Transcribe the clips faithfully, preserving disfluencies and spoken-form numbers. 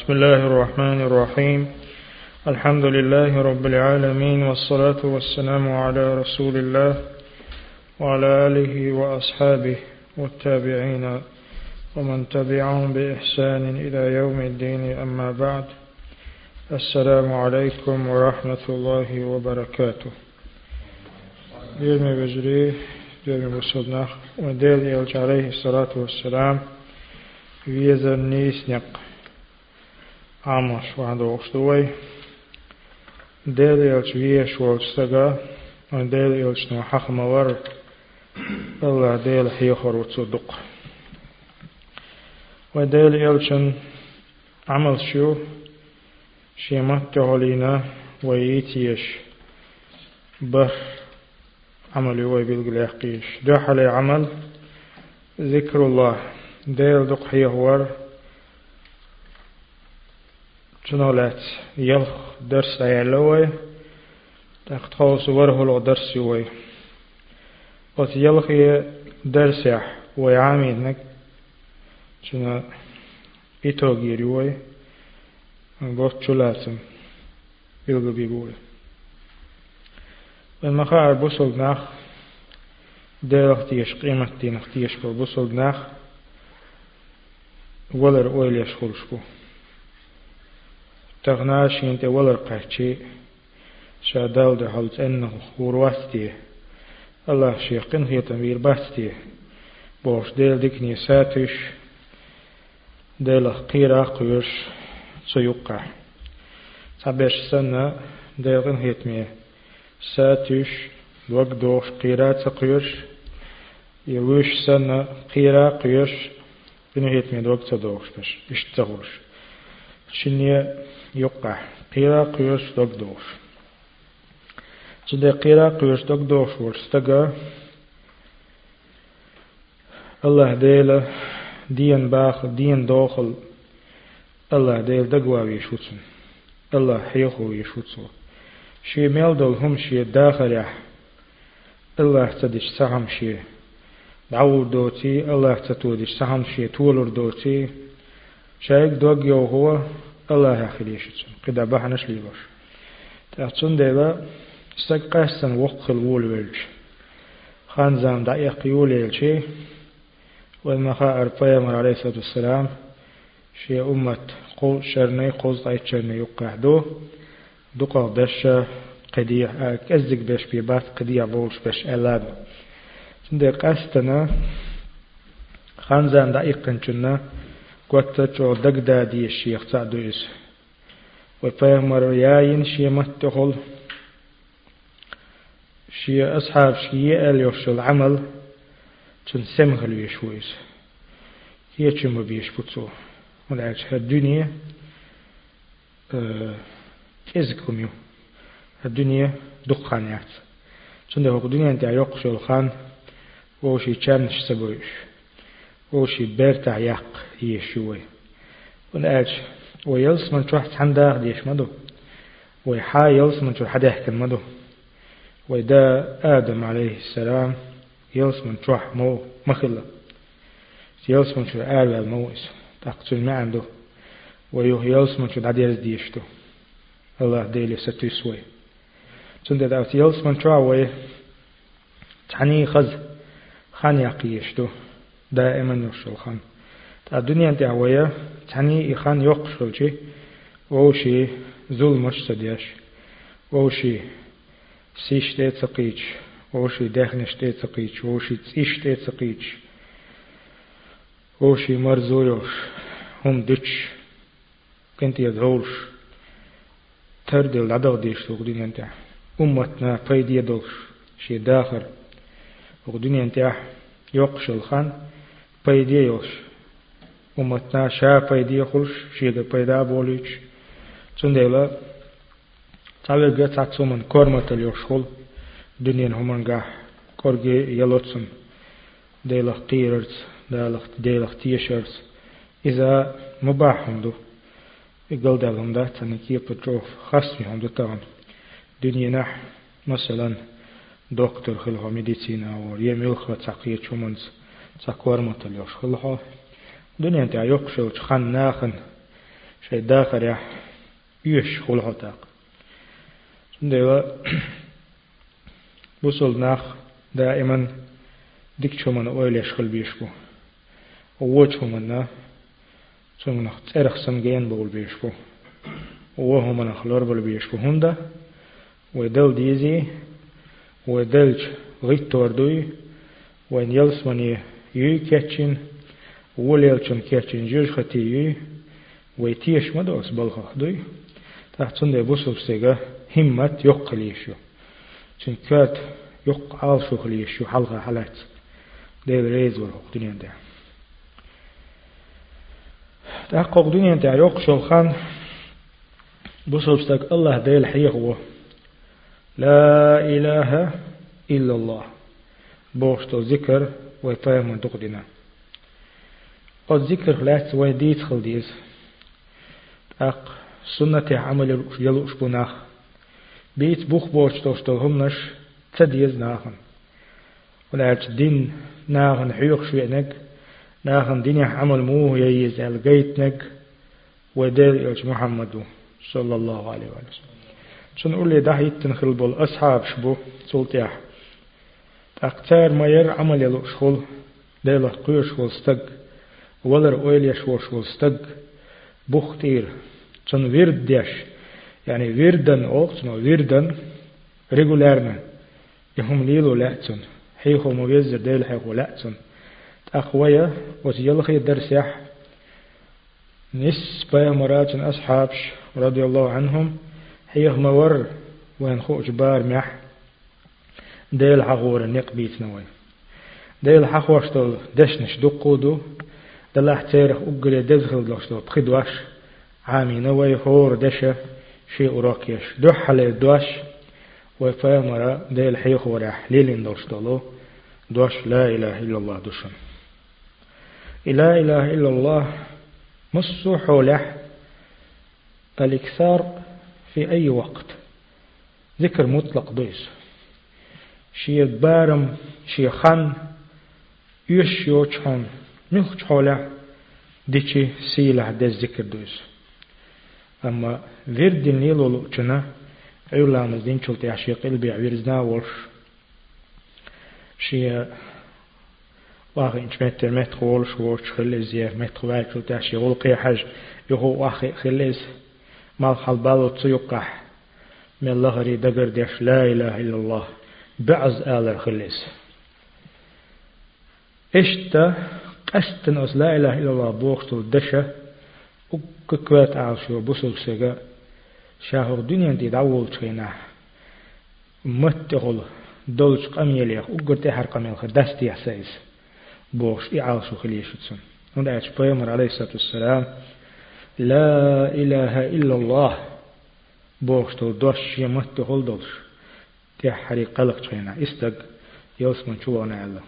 بسم الله الرحمن الرحيم. الحمد لله رب العالمين، والصلاة والسلام على رسول الله وعلى آله وأصحابه والتابعين ومن تبعهم بإحسان إلى يوم الدين. أما بعد، السلام عليكم ورحمة الله وبركاته. ديرمي بجري ديرمي بسودناخ ودير يلج عليه الصلاة والسلام ويزر نيس نق عمش وعنده وشتوي دير يلج ويش والشتغا ودير يلج نوحق مور الله دير حيخور وتصدق ودير يلج عمل شو شيمات تهولينا ويتيش بر عمل يوي بالقلاقيش دح علي عمل ذكر الله دير دق حيهور جنولات يلخ درس عيالوي تختوص وره لو درس يوي وت يلخ درس يح ويعامينك جنا إتوغير يوي بوت شلاتم يلقى بيقول والمخاعر بوصل ناخ دير اختيش قيمة دين اختيش بوصل ناخ ولر اويل يشخلشكو تغناش ينتي ولر قحشي شادال ده حلت انه ورواستي الله شيقين هي تنوير باستي بوش ديل ديكني ساتش ديل قيرا قيوش سيوقع سابش سنة ديل غن هيتمي ساتش وقدوش قيرات قيوش يوش سنة قيرا قيوش بنهيت من وقت دوش بش اشتغلش شنية يقع قيرا قيوش وقدوش جدا قيرا قيوش وقدوش ورستقى الله ديلا دين باخ دين داخل الله ديل دقوا بيشوتن الله حيخو يشوتن شي ميلدل هم شي داخل يح الله تدش سهم شي دعور دوتي الله تتودش سهم شي تولر دوتي شايك دوغ يو هو الله يخليشتن قدا بحنش ليباش تأتون ديلا استقاسن وقت الول ولش خانزام دعيق يوليلشي والمخاء البيامر عليه الصلاة والسلام شي أمة قو شرني قوز عيد شرني يقعدو دقا بش قديع أزق بش بيبات قديع بولش بش ألاد تندي قاستنا خانزان دقيقن جنة قوتا جو دقدا دي الشيخ تعدو إس وفهمر ياين شي متخل شي أصحاب شي أليوش العمل جن سمغل يشويس هي جمع بيش بطو ولعج هالدنيا أه إزكم يو الدنيا دقانيات جن ده الدنيا انت يقش الخان وشي تشانش سبويش وشي بيرتع يق يشوي ولعج ويلس من تروح تحنداغ ديش مدو ويحا يلس من تروح حدا يحكي مدو ويدا آدم عليه السلام يلس من تروح مو مخلة يلس من تروح آل الموئس تقتل ما عنده ويوه يلس من تروح عدير ديشتو الله ديلي ستو يسوي تندى دعوت يلس من تروح وي تعني خز خان يقيشتو دائما يوشل خان الدنيا انت عوية تعني إخان يقشل شي ووشي ظلم مجتديش ووشي سيش تيتسقيج ووشي داخنش تيتسقيج ووشي تسيش تيتسقيج ووشي مرزويوش هم ديش كنت يدهولش تردي العدغ ديش الدنيا انت أمتنا فايدي يدولش شي داخل الدنيا انت يقشل خان فايدي يوش أمتنا شا فايدي يخلش شي دا فايدا بوليش تنديلا تعبير قد تعتصومن كورمة اليوشخل دنيا همون قاح كورجي يلوتسن ديلخ قيررز ديلخ ديلخ تيشرز إذا مباح هندو يقول دالهم ده تنكي بتروف خاصمي هندو طبعا دنيا نح مثلا دكتور خلها ميديسينا وريم خلها تقية شومنز تقوار متليوش خلها دنيا انت يقشل خان ناخن شيء داخل يح يش خلها تاق سندوا بوصل ناخ دائما ديك شو من أول يشغل بيشبو ووجه منا شو من أرخ سمجين بقول بيشبو وهو من أخلار بقول بيشبو هندا ودل ديزي ودلج غيت توردوي وين يلس مني يي كاتشين وليلشن كاتشين جوج ختي يي ويتيش مدوس بالخ دوي تحت سند بوسو سيغا همت يقليشو چن كات يق عالشو خليشو حلقة حالات ديل ريز ورق دنيا ده تحقق دنيا ده يقشو خان بوسو بستك الله ديل حيه هو لا إله إلا الله بوشتو ذكر ويفهم من تقدنا الذكر خلاص ويديت خلديز أق سنة عمل يلوش بناخ بيت بوخ بوشتو شتو همنش تديز ناخن ولعج دين ناخن حيوخ شوينك ناخن دين عمل موه ييز القيتنك ودير يوج محمد صلى الله عليه وسلم شن أقول لي ده يتنخل بول أصحاب شبو سلطيح أكتر ما ير عمل يلو شغل ديلا قير شغل استق ولر أويل يشور شغل استق بوختير شن ويرد ديش يعني ويردن أوقت ما ويردن ريغولارنا يهم ليلو لأتن حيخو مويزر ديل حيخو لأتن أخويا وزيلخي درسيح نسبة مرات أصحابش رضي الله عنهم هيه مور وين خو جبار مح ديل حقور النق بيت نوي ديل حقوشتو دشنش دقودو دلح تيرخ أقري دزخل دوشتو بخدواش عامي نوي هور دشة شيء راكيش دوح على دوش وفامرا ديل حيخ ورح ليلين دوشتو دوش لا إله إلا الله دوشن لا إله إلا الله مصو حولح الإكثار في أي وقت ذكر مطلق دويس شيء بارم شيء خان يش يوچون مخ حوله ديشي سيله ده ذكر دويس أما ورد نيلو لوچنا أولام الدين شلت عشيق قلبي عويرزنا ورش شيء واخي إنش متر متر خولش ورش خليز يه متر خواج شلت عشيق ولقي حاج يهو واخي خليز مال حلبالو تسيقح من الله ري دقر ديش لا إله إلا الله بعز آل خليس إشتا قستن أس لا إله إلا الله بوقت الدشة وككوات عاشو بسوك سيغا شاهر دنيا دي دعول تخينا متغل دولش قميليخ وقرتي حر قميلخ دستي حسيس بوش إعاشو خليشتسن ونعيش بيامر عليه الصلاة والسلام لا إله إلا الله بوشتو دوش يمتغل دولش تحري قلق تخينا استق يوسمن شوانا الله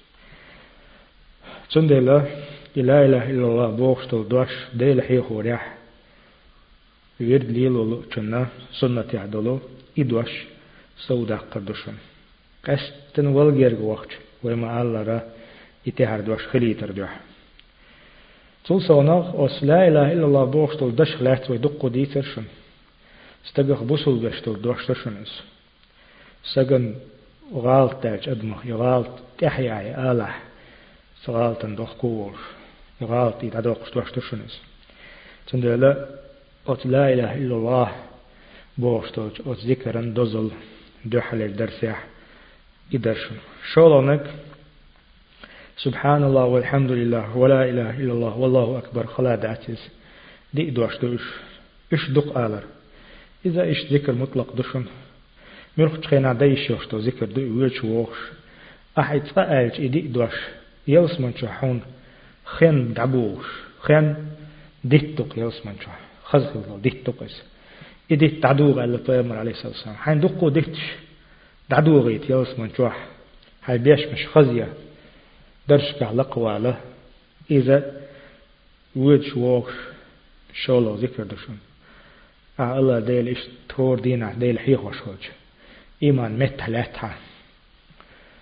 تندلا لا إله إلا الله بوشتو دوش ديل حيخو ريح ويرد ليلو لنا سنة يعدلو إدوش سودا قردشن قستن والغير وقت وما الله را يتهر دوش خليتر دوح تول سوناغ أس لا إله إلا الله بوشتو دش خلات ويدقو ديترشن استقخ بوصل بشتو دوش ترشنس سجن غالط تاج أدمه يغالط تحيا آلح سغالط ندخ كور يغالط يتعدوق دوش ترشنس تندلا أت لا إله إلا الله بوشتو أت ذكرا دزل دوحل الدرسيح يدرشن شولونك سبحان الله والحمد لله ولا إله إلا الله والله أكبر خلا دعتز دي دوش دوش إش دق آلر إذا إش ذكر مطلق دشن مرخ تخينا دايش يوشتو ذكر دو ويش ووش أحد فألج إدي دوش يلس من شحون خين دعبوش خين ديتوك يلس من شح خزخ الله ديتوكس إدي تعدوغ على الطيامر عليه الصلاة والسلام حين دقو ديتش دعدوغيت يلس من شح هاي بيش مش خزية درشك على قواله إذا ويش ووش شولو ذكر دشن آه الله ديل إيش تور دينا ديل حيخ وشوج إيمان متلاتها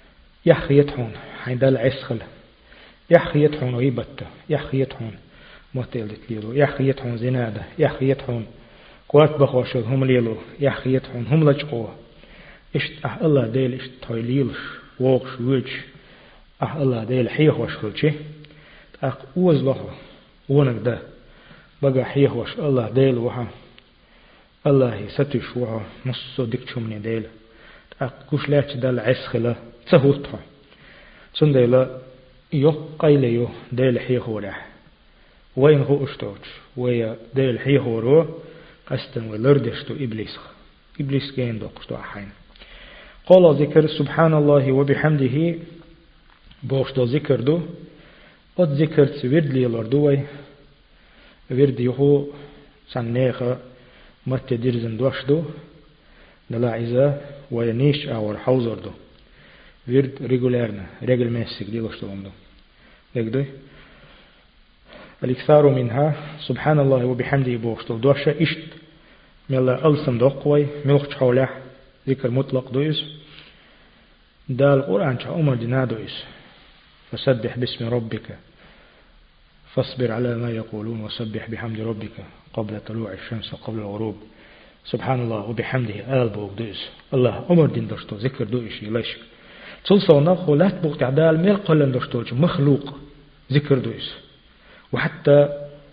يحخي يتحون حين دل عسخل يحخي يتحون ويبت يحخي يتحون متلت ليلو يحيتهم زنادة يحيتهم قوات بخوشل هم ليلو يحيتهم هم لجقوه إشت أه الله ديل إشت تويليلش ووقش ويج أه الله ديل حيه وشخلشي أق أوز له ونك ده بقى حيه وش الله ديل وها الله ستش وها نص ديك شمني ديل أق كوش لاتش دال عسخلة تهوتها سنديلا يو قيل يو ديل حيه ورح وين هو أشتوش ويا ديل حيه ورو قستن ولردشتو إبليس إبليس كين دوقشتو أحين قال ذكر سبحان الله وبحمده بوشتو ذكر دو قد ذكرت ورد لي لردوي ورد يهو سنيخة مت درزن دوشتو نلا عزا وينيش أور حوزر دو ورد ريغولارنا ريغل ماسك دي لشتو دو لكدوي الإكثار منها سبحان الله وبحمده بوشتو دوشة إشت ملا ألسم دوقوي ملخش حوله ذكر مطلق دويس دا القرآن شا أمر دينا دويس فسبح باسم ربك فاصبر على ما يقولون وسبح بحمد ربك قبل طلوع الشمس وقبل الغروب سبحان الله وبحمده آل بوك دويس الله أمر دين دوشتو ذكر دويش يليش تصلصونا خلات بوك تعدال ميل قلن دوشتو مخلوق ذكر دويس وحتى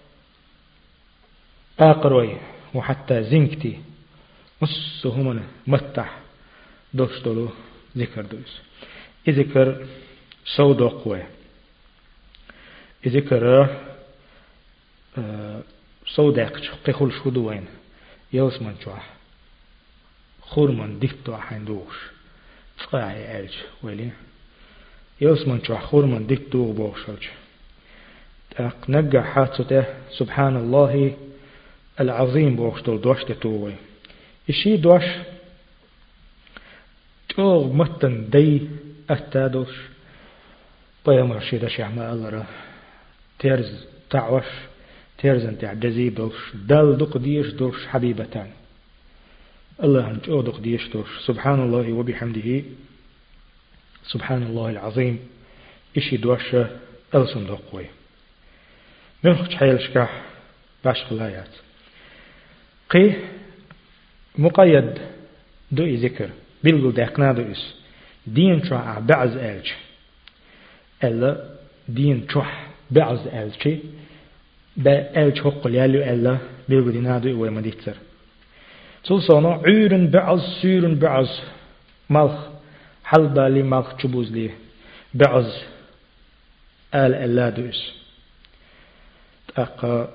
آقروي وحتى زنكتي نصهمنا متح دوشتلو ذكر دويس إذكر سودو قوي إذكر سوداقش قيخل شودوين يوس من شوح خور من ديفتو حين دوش تقاعي ألج ولي يوس من شوح خور من ديفتو بوشلج نجا حاتته سبحان الله العظيم بوشتل دوشت توي إشي دوش توغ متن دي أتادوش بيام رشيدة شعما الله تيرز تعوش تيرز انت عجزي دوش دل دق ديش دوش حبيبتان الله انت او دق ديش دوش سبحان الله وبحمده سبحان الله العظيم إشي دوش ألسن دقوي ملخش حيلشكح باش خلايات قي مقيد دوئي ذكر بلغل داقنا دوئيس دين شوح بعز ألج ألا دين شوح بعز ألجي با ألج حق ليالو ألا بلغل دينا دوئي ويمديتر تلصانا عيرن بعز سيرن بعز ملخ حلبا لي ملخ چبوز لي بعز آل ألا دوئيس أقا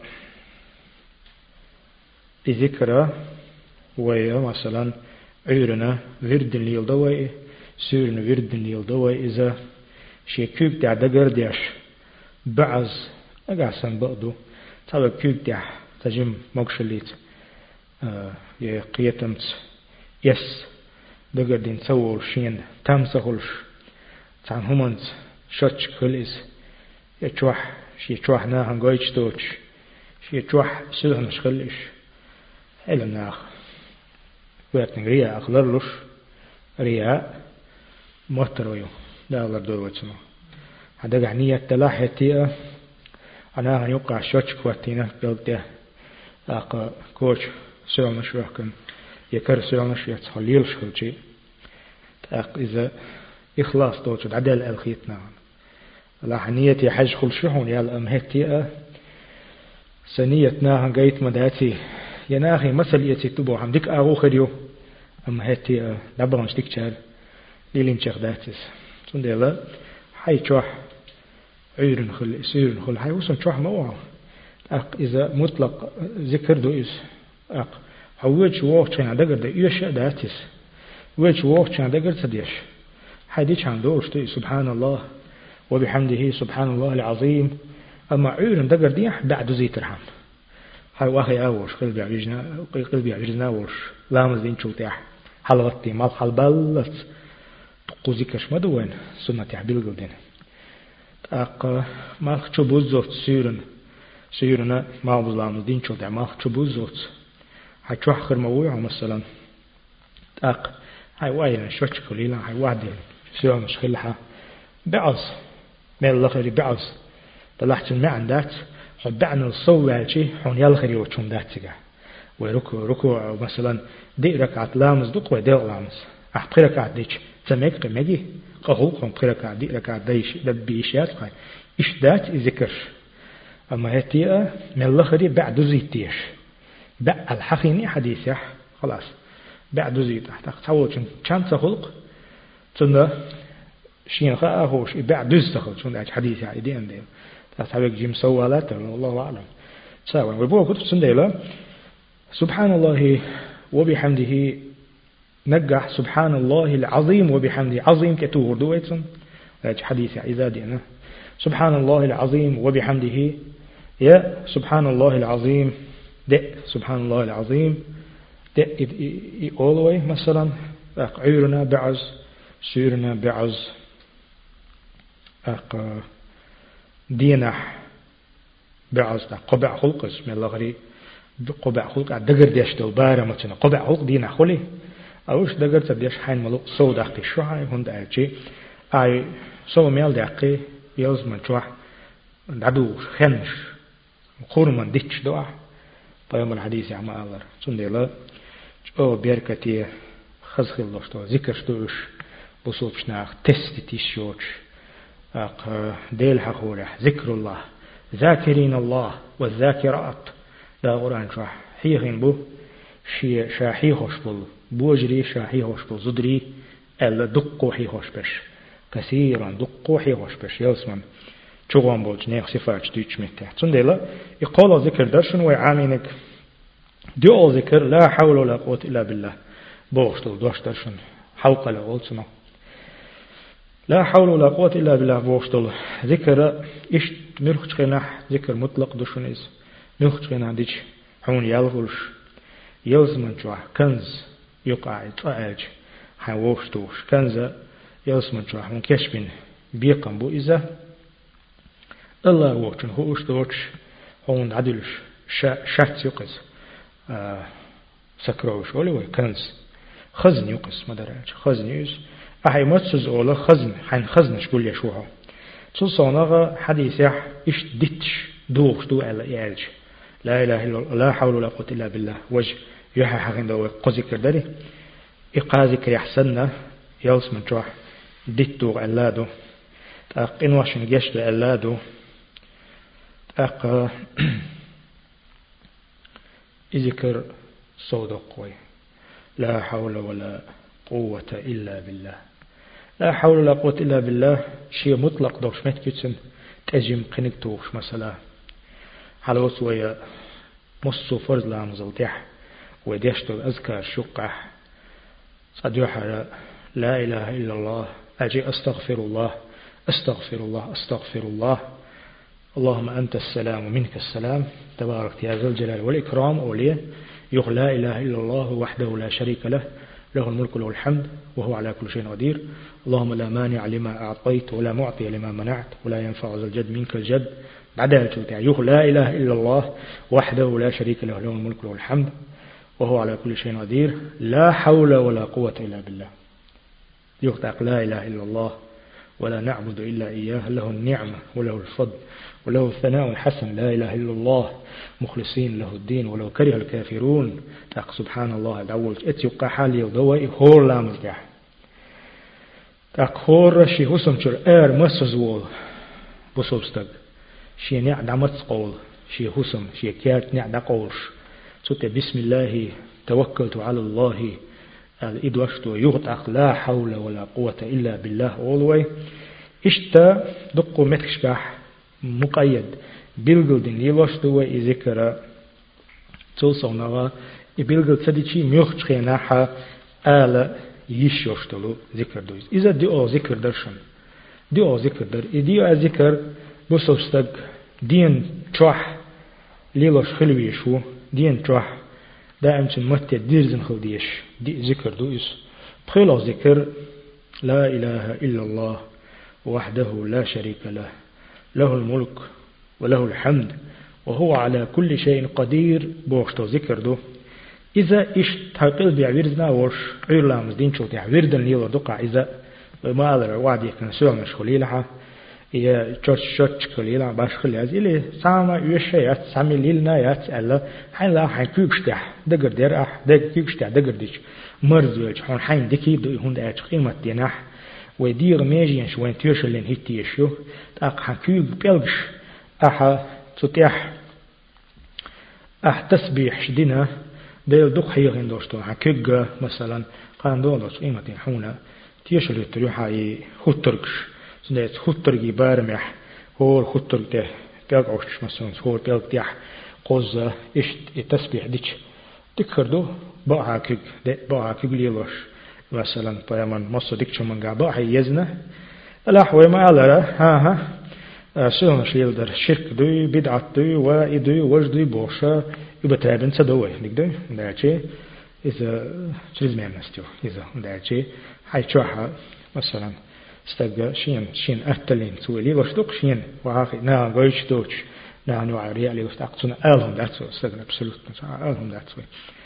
ذكر ويا مثلا عيرنا ورد ليل دوي سيرنا ورد ليل دوي إذا شيء كوب تاع دقر ديش بعز أقاسم بقدو تابع كوب تاع تجمع مقشليت يقيتمت يس دقر دين سوول شين تامسهولش تان همانت شتش كليز يتوح شي توح ناهن قويتش دوتش شي توح سلهن شخليش إلا ناخ ويتن رياء أخلرلوش رياء مهترويو لا الله دور وجهنا هذا عنية تلاحة تيا أنا يوقع شوتش كواتينا قلت أق كوش سؤال مشروع كن يكر سؤال مشروع تخليل شخلشي أق إذا إخلاص دوتش عدل الخيتنا لاحنية حج خلشهم يا الأمهتي سنيتنا هنجيت مداتي يناخي مثل يتي تبو هم ديك أغو خريو أمهتي دبرن شتكشال ليلين شيخ داتس سندلا حي تشوح عيرن خل سيرن خل حي وصل تشوح موعه أق إذا مطلق ذكر دو إز أق حويج وقت كان دقر ده يش داتس ويج وقت كان دقر تديش حدي كان دوش تي سبحان الله وبحمده سبحان الله العظيم أما عيرن دقر ديح بعد زيت رحم هاي واخي أورش قلبي عجزنا قلبي عجزنا أورش لا مزين شو تاح حلوتي مال حل بلت تقوزي كش مدوين سنة تحبيل قلدين أق مال شو بوزوت سيرن سيرنا ما بظلام مزين شو تاح مال شو بوزوت هاي شو آخر موضوع مثلا أق هاي وايد شوش كليلا هاي واحد سيرن مش خلها بعض مال الآخر بعض طلعت الماء عندات حبعنا الصوّع شيء حون يلخري وشون داتجا وركوع ركوع مثلا دي ركعة لامز دق ودي لامز أحب ركعة ديش تميك قمجي قهو قم ركعة دي ركعة ديش دبيشات قاي إيش دات ذكر أما هتيا من الخري بعد زيتيش بعد الحقيني حديث يح خلاص بعد زيت تحت تحول شن كم تخلق تنا شين خاهوش بعد زتخل شون ده حديث يعني دي عندهم تحتاج جيم سوالات والله أعلم سواء ويبغى كتب سنديلا سبحان الله وبحمده نجح سبحان الله العظيم وبحمده عظيم كتور دويتن حديث إذا دينا سبحان الله العظيم وبحمده يا سبحان الله العظيم ده سبحان الله العظيم ده all the way مثلا عيرنا بعز سيرنا بعز أق دينح بعز قبع خلق اسم الله غري قبع خلق دقر ديش دلبارة مثلا قبع خلق دينح خلي أوش دقر تديش حين ملو صو دقي الشوحة هند أجي أي صو ميل دقي يلز من شوح عدو خنش قرما ديش دوا طيب الحديث يا عما الله سندلا أو بيركتي خزخ الله شتو ذكر شتوش بصوت شناخ تست تيشوش أق ديل حقوله ذكر الله ذاكرين الله والذاكرات لا قرآن شرح حيخين بو شي شاحي خوشبل بوجري شاحي خوشبل زدري ألا دقو حي خوشبش كثيرا دقو حي خوشبش يلسمن شغوان بولج نيخ صفات ديش متى تندلا يقول ذكر درشن ويعامينك دعو ذكر لا حول ولا قوة إلا بالله بوشتل دوش درشن حوق لا قولتنا لا حول ولا قوة إلا بالله بوشتل ذكر إيش نرخش قناح ذكر مطلق دوشن إز نرخش قناح ديش حون يالغلش يلزمن جوا كنز يقع يتعاج حوشتوش كنز يلزمن جوا حون كشبين بيقن بو إذا الله وقتن هو أشتوش هون عدلش شات يقص آه سكروش ولا وي كنز خزن يقص ما درج خزن يس أحي متسز أولا خزن حين خزن شقول يشوها تصونغ حديث يح إيش دتش دوخ دو على إعج لا إله إلا الله لا حول ولا قوة إلا بالله وجه يحا حقين دو قزي كردري إقازك يحسننا يلس من جوح دتو علادو تأق إن واشن جيش علادو أق إذكر صودق قوي لا حول ولا قوة إلا بالله لا حول ولا قوة إلا بالله شيء مطلق دوش متكتسن تجم قنق توش مثلا حلوس ويا مصو فرز لامزلتح وديشتو أذكر شقح صديحة لا إله إلا الله أجي أستغفر الله أستغفر الله أستغفر الله اللهم أنت السلام ومنك السلام تبارك يا ذو الجلال والإكرام أوليه يقول لا إله إلا الله وحده لا شريك له له الملك وله الحمد وهو على كل شيء قدير اللهم لا مانع لما أعطيت ولا معطي لما منعت ولا ينفع ذا الجد منك الجد بعدها يقول لا إله إلا الله وحده لا شريك له له الملك وله الحمد وهو على كل شيء قدير لا حول ولا قوة إلا بالله يقول لا إله إلا الله ولا نعبد إلا إياه له النعمة وله الفضل وله الثناء الحسن لا إله إلا الله مخلصين له الدين ولو كره الكافرون تاق سبحان الله دعول اتيقى حالي ودوائي هور لامز جاح تاق هور شي حسن شر اير مسزوول بصوبستق شي نعد عمت قول شي حسن شي كيات نعد قولش سوت بسم الله توكلت على الله الإدوشتو يغتق لا حول ولا قوة إلا بالله أولوي إشتا دقو متكشبح مقيد بيلغلدين يلوشتو إذكرا تلصونغا بيلغل تديشي ميوخشخيناحا آلا يشيوشتلو ذكر دويز إذا دي أو ذكر درشن دي أو ذكر در إدي أو ذكر بصوستق دين تروح ليلوش خلويشو دين تروح دائما متى ديرزن خلديش دي ذكر دويس بخيلو ذكر لا إله إلا الله وحده لا شريك له له الملك وله الحمد وهو على كل شيء قدير بوشتو ذكر دو إذا إيش تقل بيعويرزنا وش عير لامز دين شو تعويردن ليلو دقع إذا ما أدر وعد يكن سوى مشغولي لها يا تشوش شوش كليلا باش خليز إلي سامع يشيات سامي ليلنا يات ألا حين لا حين كيكشتح دقر دير أح دق كيكشتح دقر ديش مرز يلج حين حين دكي دو هند أج قيمة ديناح ودير ميجين شوين تيرشلين هيتيشو تاق حين كيك بيلجش أح تتيح أح تسبيح شدنا ديل دق حيغين دوشتو حين كيك مثلا قان دولوش قيمة حونا تيرشلين تريوحا يخوترقش سنت خطرجي بارمح هو خطرج ده بيعوش مثلا هو بيعوش ده قوز إيش التسبيح ديش تكردو بقى كيك ده بقى كيك ليلوش مثلا بيامن مصر ديك شو من قا بقى يزنا لا هو ما على ها ها سون شيل در شرك دوي بدعة دوي وإدوي وجدوي بوشة يبتابن سدوي نقدر ده شيء إذا شريز ما نستيو إذا ده شيء هاي شوها مثلا استجا شين شين أهتلين سويلي وشدوك شين وعاقي نا غيش دوش نا نوع ريالي وستأقصنا ألهم داتسو استجا أبسولوت ألهم داتسو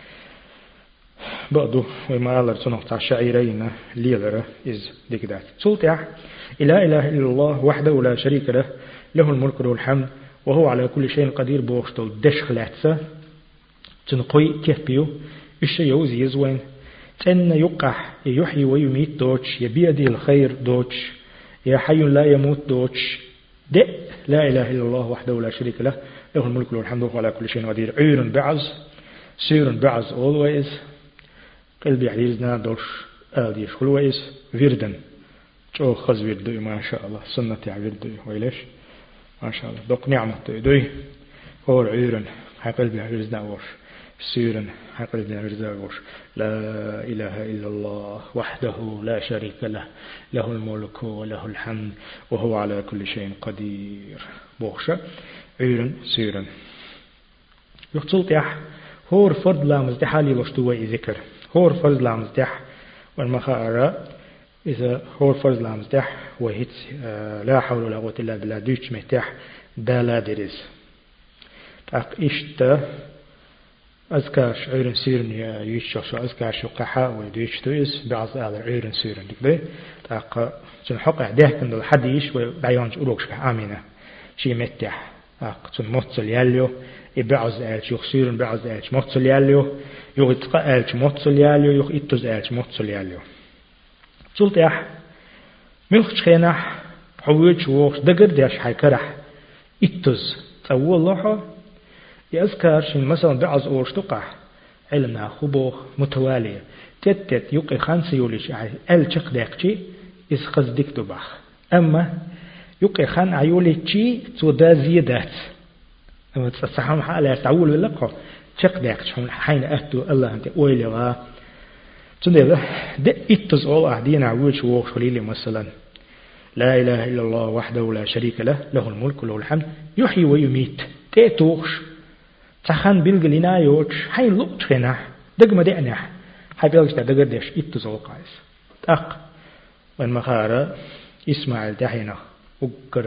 بعدو وما ألر تنو تاع شعيرين ليلر إز ديك دات سلطع إلا إله إلا الله وحده لا شريك له له الملك وله الحمد وهو على كل شيء قدير بوشتل دش خلاتسا تنقوي كيفبيو إيش يوزي يزوين تن يقح يحيي ويميت دوتش يبيدي الخير دوتش يا حي لا يموت دوتش د لا إله إلا الله وحده لا شريك له له الملك وله الحمد وهو على كل شيء قدير عير بعز سير بعز always قلبي عزيزنا دوش آديش always فيردن شو خز فيردو ما شاء الله سنة فيردو ويلش ما شاء الله دوق نعمة دوي هو عير هاي قلبي عزيزنا وش سيرا حقل بن عرزاوش لا إله إلا الله وحده لا شريك له له الملك وله الحمد وهو على كل شيء قدير بوخشة عيرا سيرا يقتلت يح هور فرد لا مزدح لي وشتوى ذكر هور فرد لا مزدح والمخاء إذا هور فرد لا مزدح وهيت لا حول ولا قوة إلا بالله دوش مهتح دا لا درز تاق إشتا أذكاش عيرن سيرن يشوش أذكاش وقحاء ويدوش تويس بعض على عيرن سيرن دكبي تاق جن حقع ده كند الحديش وبعيانج أروكش آمينة شي متح تاق جن متصل ياليو يبعض آلش يخ سيرن بعض آلش متصل ياليو يخ يتقى آلش متصل ياليو يخ إتوز آلش متصل ياليو سلط يح ملخش خينح حويج ووخش دقر ديش حيكرح إتوز تأول الله يذكر شيء مثلا بعض أورش تقع علمنا خبوخ متوالية تتت يقي خمسة يوليش أل شق داقشي إز خز ديك دباخ أما يقي خان عيولي تشي تودا زيادات أما تصحهم حالة تعول باللقاء شق داقش حين أهدو الله أنت أويلي غا تندي ده إتز أول أهدين عويش ووخ خليلي مثلا لا إله إلا الله وحده لا شريك له له الملك وله الحمد يحيي ويميت تأتوخش تخان بيلغلينا يوش هاي لوت خنا دغما دعنح هاي بيلغش دغر ديش إتزول قايس تاق وان مخارا إسماعيل تحينا وقر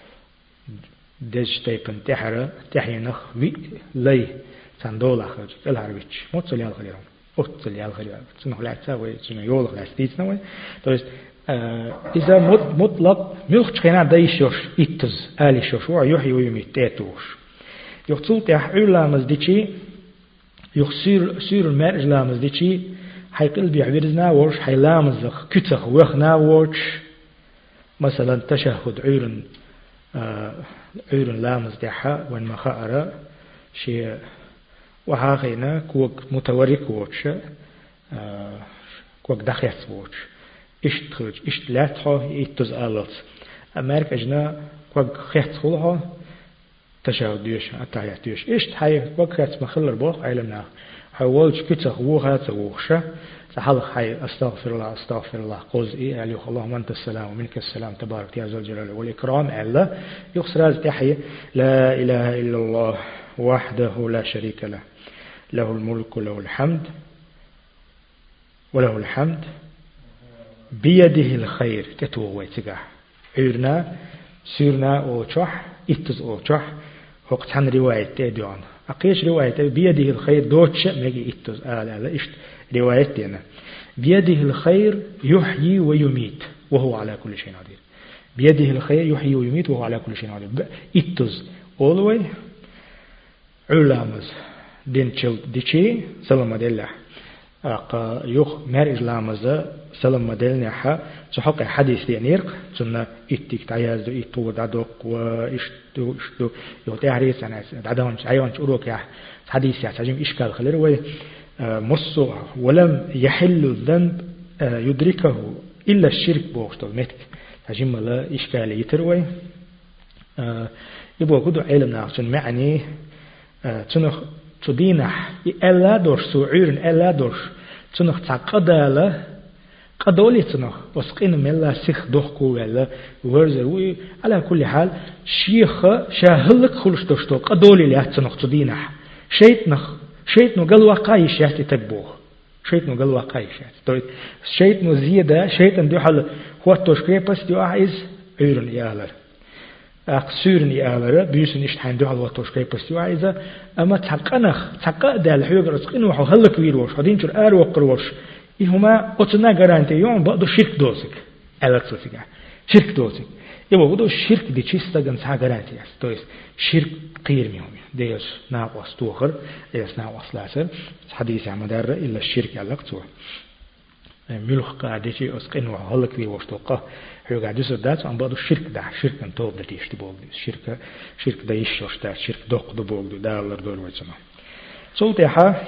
ديش تيبن تحرا تحينا في لي سندولا خرج الهربيتش موت ليال خليرون اوت ليال خليرون سنو لا تساوي سنو يول لا ستيتنا تويس إذا مطلق ملخش خنا دايشوش إتز آلي شوشو يحيي ويميت تاتوش يقتلت يحول لامز ديشي يخسر سير المرج لامز ديشي حي قلبي عبيرزنا وش حي لامز كتخ وخنا وش مثلا تشهد عيرن آه عيرن لامز ديحا وان مخاءرة شيء وحاقينا كوك متورك وش آه كوك دخيس وش اشت خرج اشت لاتها يتز آلت أمريك أجنا كوك خيط خلها تشهد ديش أتعيات ديش إيش تحيي وقت مخلر بوخ علمنا حاولش كتخ ووها توخشة تحلق حي أستغفر الله أستغفر الله قوز إيه عليه اللهم أنت السلام ومنك السلام تبارك يا ذو الجلال والإكرام ألا يخسر هذا تحيي لا إله إلا الله وحده لا شريك له له الملك وله الحمد وله الحمد بيده الخير تتوه تجاه عيرنا سيرنا أوشح إتز أوشح وقت عن رواية تديون أقيش رواية بيده الخير دوتش مجي إتز آل آل إشت رواية دينا بيده الخير يحيي ويميت وهو على كل شيء قدير بيده الخير يحيي ويميت وهو على كل شيء قدير إتز أولوي علامز دين تشل ديشي سلام دلله أق يخ مرج لامز سلام دلنا ح تحقق حديث دينيرق سنة إتيك تعياز إتو دادوق وإشتو إشتو يوتيهريس أنا دادوانش عيونش أروك يا حديث يا سجيم إشكال خلير وي مصو ولم يحل الذنب يدركه إلا الشرك بوشتو متك سجيم لا إشكال يتروي يبغى كده علم ناقصن معني تنخ تدينح إلا دورش سعيرن إلا دورش تنخ تعقداله قدولي تنخ وسقين ملا سيخ دوخكو ولا ورزوي على كل حال شيخ شاهلك خلش دوشتو قدولي له تنخ تدينح شيتنخ شيتنو قال واقعي شهتي تكبوه شيتنو قال واقعي شهتي طيب شيتنو زيادة شيتن دو حل هو توشكري بس دو عايز عيرن يالر أقصيرن يالر بيوسن إشتحين دو حل هو توشكري بس دو عايزة أما تحقنخ تحقق دال حيوغ رزقين وحو هلك ويروش هدين شر آر وقروش إهما قطنا غرانتي يوم بعدو شرك دوسك ألك سوسيكا شرك دوسك يبقى بدو الشرك دي تشيستا جنسها غرانتي يس تويس شرك قير ميومي ديش ناقص توخر ديش ناقص لاسر حديث عمدار إلا الشرك ألك توه ملوخ قاعدتي أسقين وحلق في وشتوقه هو قاعد يصير دات عن بعض الشرك ده شرك انتوب ده تيش تبوغ شرك شرك ده يشوش ده شرك دوق ده بوغ ده الله دول ويسمع صوتي ها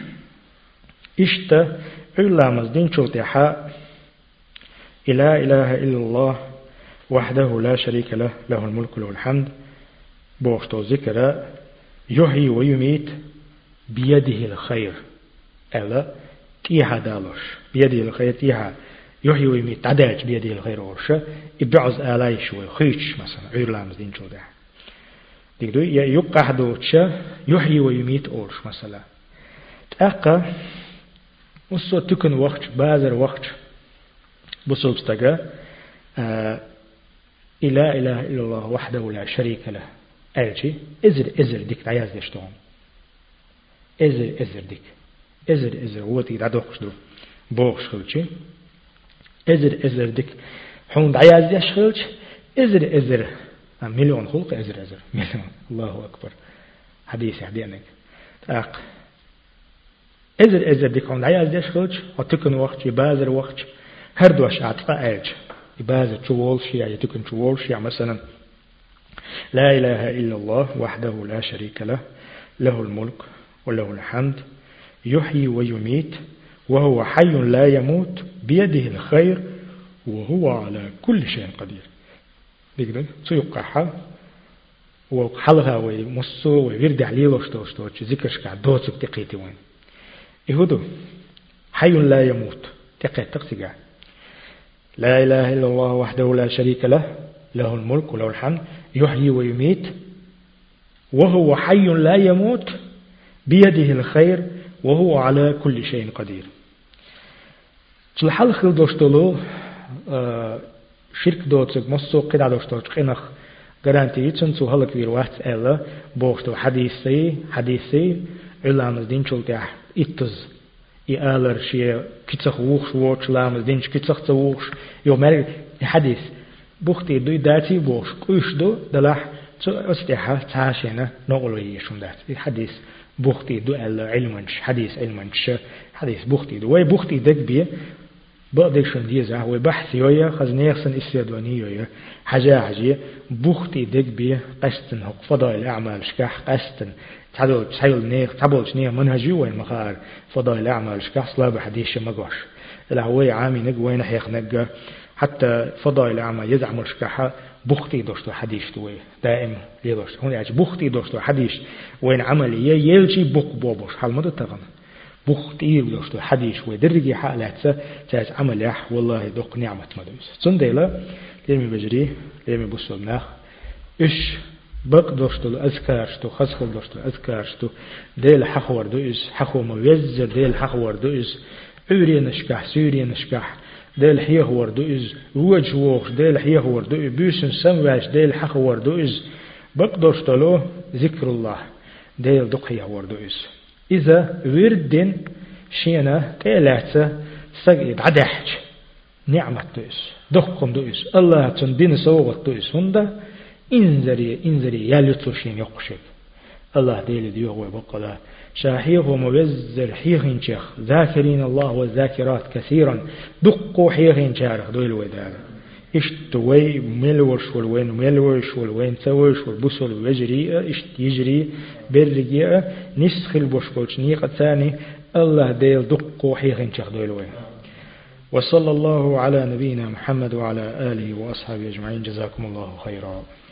إشتا إلا مزدين صوتي ها لا إله إلا الله وحده لا شريك له له الملك وله الحمد بوشتو ذكر يحيي ويميت بيده الخير ألا تيها دالوش بيده الخير تيها يحيي ويميت عداج بيده الخير ورشة إبعز آلاي شوي خيش مثلا عير لامز دين شو ده ديكدو يقع دوتشا يحيي ويميت أورش مثلا تأقى وصو تكن وقت بازر وقت بصوب استقى آه إلا إله إلا الله وحده لا شريك له ألشي إزر إزر ديك تعياز ديشتون إزر إزر ديك إزر إزر هو تيجي تعدوخش دو بوخش خلشي إزر إزر ديك حون تعياز ديش إزر إزر مليون خلق إزر إزر مليون الله أكبر حديث حديثك تاق إزر إزر ديك حون تعياز ديش خلش وتكن وقت يبازر وقت هردوش عطفاء ألش يبازر شوال شيء يتكن شوال شيء مثلا لا إله إلا الله وحده لا شريك له له الملك وله الحمد يحيي ويميت وهو حي لا يموت بيده الخير وهو على كل شيء قدير بيقدر سيقعها وحلها ومصو ويرد عليه وشتوشتو ذكرش قاعد دوتك تقيتي وين يهودو حي لا يموت تقيت تقسيقا لا إله إلا الله وحده لا شريك له له الملك وله الحمد يحيي ويميت وهو حي لا يموت بيده الخير وهو على كل شيء قدير تلحل خل دوشتلو شرك دوتك مصو قدع دوشتو قنخ garanti يتسن سو هلك وير واحد ألا بوشتو حديثي حديثي علامز دين شلتح إتز يالر شيء كتسخ ووخش ووش لامز دينش كتسخ تووخش يوم مري حديث بوختي دوي داتي بوش كوش دو دلح أستيحة تعاشينا نقول يشون دات الحديث بوختي دو علمنش حديث علمنش حديث بوختي دو وي بوختي دك بيه بقدر شون ديزا وي بحث يويا خزنيخسن استيادواني يويا حاجة حاجة بوختي دك بيه قستن هق فضائل أعمال شكاح قستن تعدل تحيل نيخ تعبولش نيخ منهجي وين مخار فضائل أعمال شكاح صلاب حديث مقوش الهوي عامي نق وين حيخ نق حتى فضائل أعمال يزعمل شكاحة بوختي دوشتو حديث توي دائم ليدوش هون يعني بوختي دوشتو حديث وين عملية يلشي بوق بوبوش حال مدة تغنى بوختي دوشتو حديث ويدرجي حالات تاس عمل يح والله دوق نعمة مدوس صنديلا ليمي بجري ليمي بوصل ناخ إيش بق دوشتو أذكارشتو خسخل دوشتو أذكارشتو ديل حخور دوئس حخو موزر ديل حخور دوئس عوري نشكح سوري نشكح ديل حيه وردوئز وجه ووخش ديل حيه وردوئز بيسن سمواش ديل حخ وردوئز بقدرش تلو ذكر الله ديل دق حيه وردوئز إذا وردن شينا تيلاتسا سقيد عدحج نعمة تويس دخكم دويس الله تندين سوغت تويس هندا إنزري إنزري ياليطلشين يقشك الله ديل ديوغ وبقلا شاحيغ ومبزر حيغين شيخ ذاكرين الله والذاكرات كثيرا دقوا حيغين شارخ دويل ودار اشت وي ملوش والوين ملوش والوين توش والبسل ويجري اشت يجري برجي نسخ البشكوش نيقة ثاني الله ديل دقوا حيغين شيخ دويل وين وصلى الله على نبينا محمد وعلى آله وأصحابه أجمعين جزاكم الله خيرا.